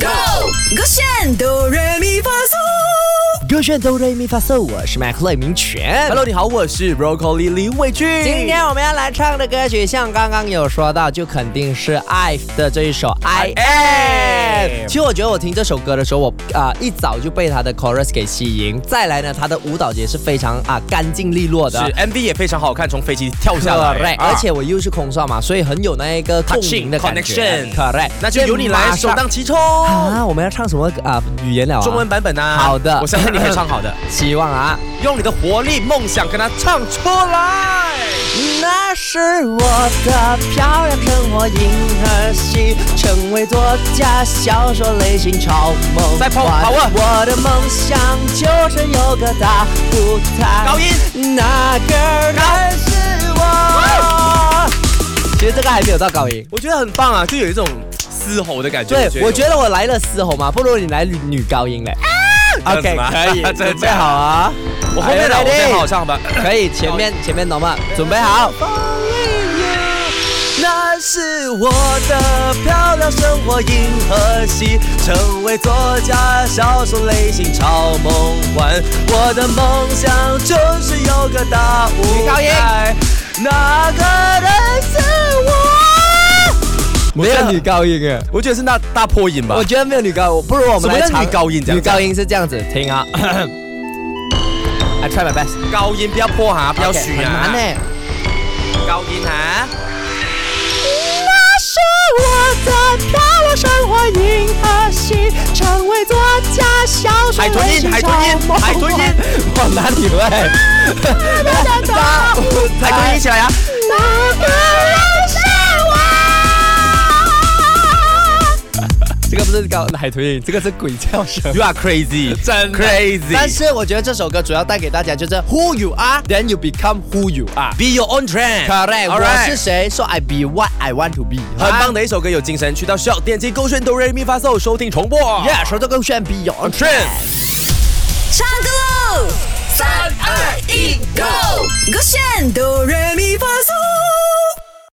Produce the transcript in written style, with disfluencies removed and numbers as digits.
Go， 勾选哆来咪发嗦， 勾选哆来咪发嗦，我是麦克雷明全。 Hello， 你好，我是 Broccoli 李伟俊。 今天我们要来唱的歌曲，像刚刚有说到，就肯定是 IVE 的这一首 I Am。其实我觉得我听这首歌的时候，我一早就被他的 chorus 给吸引。再来呢，他的舞蹈节是非常干净利落的， 是 MV 也非常好看，从飞机跳下来， 而且我又是空少嘛，所以很有那一个共鸣的感觉。Correct， 那就由你来首当其冲啊！我们要唱什么语言了？ 中文版本啊。 好的， 我相信你可以唱好的。 希望啊， 用你的活力、梦想跟它唱出来。 那是我的漂亮生活银河系，成为作家、销售类型超梦再跑啊！ 我的梦想就是有个大舞台。 高音， 那个人是我。其实这个还没有到高音， 我觉得很棒啊，就有一种嘶吼的感觉。 对，我觉得我来了嘶吼嘛，不如你来女高音嘞。OK， 可以，准备好啊！ 我后面的我先好唱吧。 可以，前面懂吗？准备好。 那是我的漂亮生活银河系，成为作家、销售类型超梦幻。我的梦想就是有个大舞台，那个人是我。 没有女高音哎， 我觉得是那大破音吧。 我觉得没有女高音，不如我们来唱女高音这样。 女高音是这样子，听啊。I try my best。 高音不要破哈，不要虚啊。 很难呢。 高音哈。 那是我的漂亮生活银河系，成为作家、销售类型超梦幻。 海豚音， 往哪里来？ 海豚音起来呀！ 那个人是我。这个不是海豚音，这个是鬼叫声。 You are crazy， 真 crazy。 但是我觉得这首歌主要带给大家就是 Who you are, then you become who you are. Be your own trend. Correct. 我是谁 ，so I be what I want to be. 很棒的一首歌，有精神，去到需要点击勾选哆来咪发嗦收听重播。 Yeah， 收到勾选 Be your own trend。 唱歌喽！3、2、1，Go！ 勾选哆来咪发嗦。